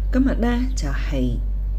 今日呢就係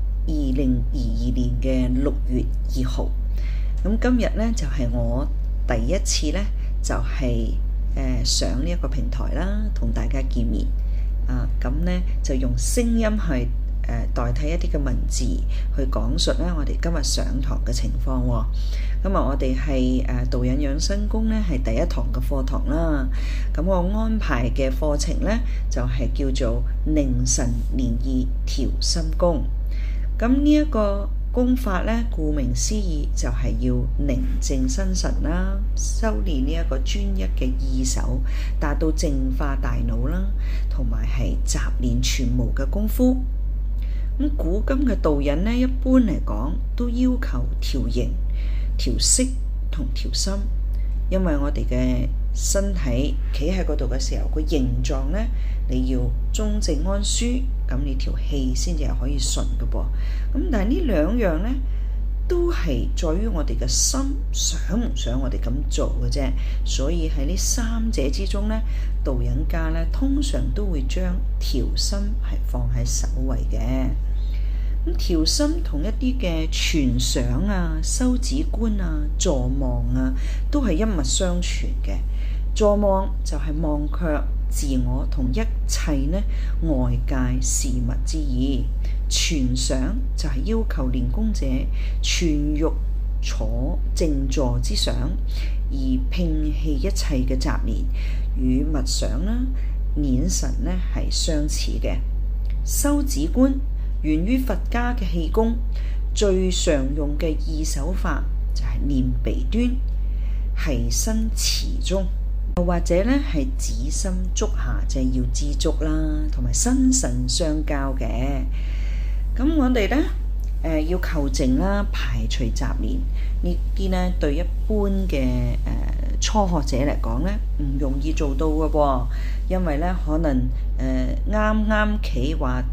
2022年嘅6月2號，咁今日呢就係我第一次呢就係上呢一個平台啦，同大家見面咁呢就用聲音去代替一啲嘅文字去講述咧我哋今日上堂嘅情況喎。咁我哋係導引養生功咧係第一堂嘅課堂啦。咁我安排嘅課程咧就係叫做寧神練意調心功。咁呢一個功法咧，顧名思義就係要寧靜心神啦，修練呢一個專一嘅意手，達到淨化大腦啦，同埋係雜練全無嘅功夫。咁古今嘅導引咧，一般嚟講都要求調形、調色同調心，因為我哋嘅身體企喺嗰度嘅時候，個形狀咧你要中正安舒，咁你條氣先至係可以順嘅噃。咁但係呢兩樣咧，都係在於我哋嘅心想唔想我哋咁做嘅啫。所以喺呢三者之中咧，導引家咧通常都會將調心係放喺首位嘅。咁調心同一啲嘅傳想啊、修止觀啊、坐望啊，都係一脈相傳嘅。坐望就係忘卻自我同一切呢外界事物之意，傳想就係要求練功者全欲坐靜坐之想，而摒棄一切嘅雜念，與默想啦、念神呢係相似嘅。修止觀源於佛家嘅氣功，最常用嘅意手法就係念鼻端，繫身臍中，又或者咧係指心足下，就係要知足啦，同埋心神相交嘅。咁我哋咧要求靜啦，排除雜念，呢啲咧對一般嘅初學者嚟講咧唔容易做到嘅喎，因為咧可能啱啱企話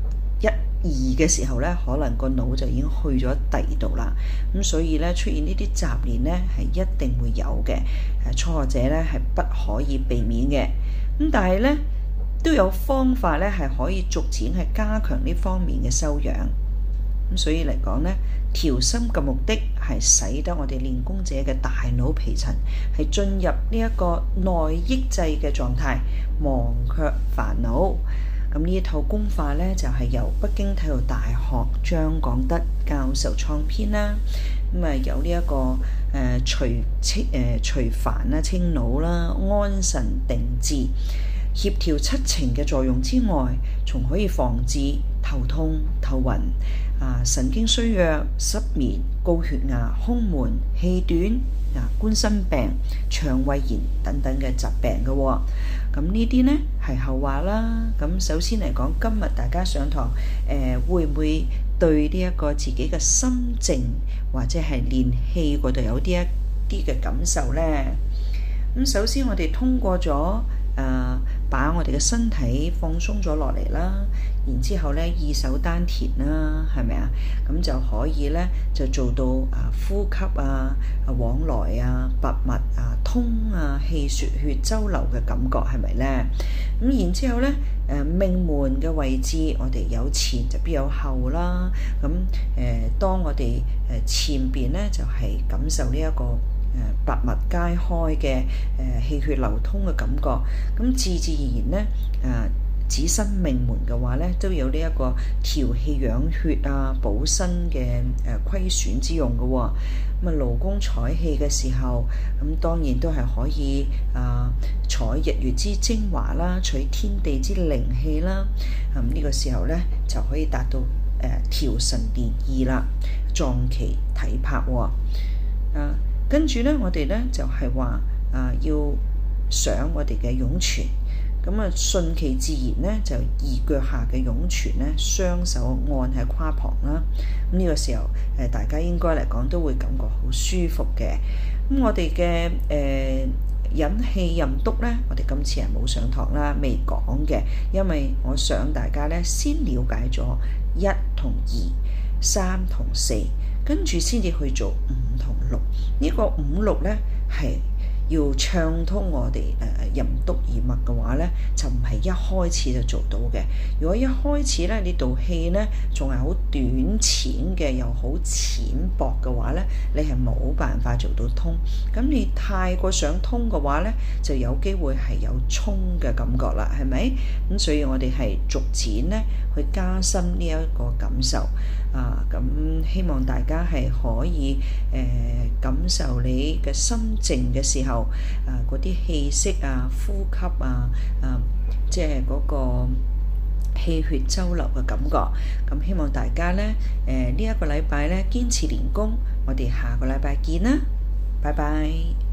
1、2嘅時候咧，可能個腦就已經去咗第二度啦。咁所以咧出現呢啲雜念咧係一定會有嘅。初學者咧係不可以避免嘅。咁但係咧都有方法咧係可以逐漸係加強呢方面嘅修養。咁所以嚟講咧，調心嘅目的係使得我哋練功者嘅大腦皮層係進入呢一個內抑制嘅狀態，忘卻煩惱。咁呢一套功法咧就係由北京體育大學張廣德教授創編啦。咁有呢一個除煩啦、清腦啦、安神定志、協調七情嘅作用之外，仲可以防治頭痛、頭暈、神經衰弱、失眠、高血壓、胸悶、氣短、冠心病、腸胃炎等等嘅疾病嘅喎。咁呢啲呢係後話啦。咁首先嚟講，今日大家上堂會唔會對呢一個自己嘅心靜或者係練氣嗰度有啲一啲嘅感受呢？咁首先我哋通過咗把我哋嘅身體放鬆咗落嚟啦，然之後咧意手丹田啦，係咪啊？咁就可以咧就做到呼吸往來拔脈通氣血周流嘅感覺，係咪咧？咁然之後咧命門嘅位置，我哋有前就必有後啦。咁當我哋前邊咧就係感受呢一個百脈皆開嘅氣血流通嘅感覺，咁自自然然咧指身命門嘅話咧，都有呢一個調氣養血補身嘅虧損之用嘅喎。咁勞宮採氣嘅時候，咁當然都係可以採日月之精華啦，取天地之靈氣啦。咁呢個時候咧就可以達到調神練意啦，壯其體魄喎。跟住咧，我哋咧就係話要想我哋嘅湧泉，咁順其自然咧，就移腳下嘅湧泉咧，雙手按喺胯旁啦。咁呢個時候大家應該嚟講都會感覺好舒服嘅。咁我哋嘅引氣任督咧，我哋今次係冇上堂啦，未講嘅，因為我想大家咧先了解咗1同2、3同4，跟住先至去做5同6。呢個5、6咧係要暢通我哋任督二脈嘅話咧，就唔係一開始就做到嘅。如果一開始咧，呢道氣咧仲係好短淺嘅，又好淺薄嘅話咧，你係冇辦法做到通。咁你太過想通嘅話咧，就有機會係有衝嘅感覺啦，係咪？咁所以我哋係逐漸咧去加深呢一個感受啊。咁希望大家係可以感受你嘅心靜嘅時候，嗰啲氣息啊、呼吸啊、即係嗰個氣血周流嘅感覺。咁希望大家咧呢一個禮拜咧堅持練功，我哋下個禮拜見啦，拜拜。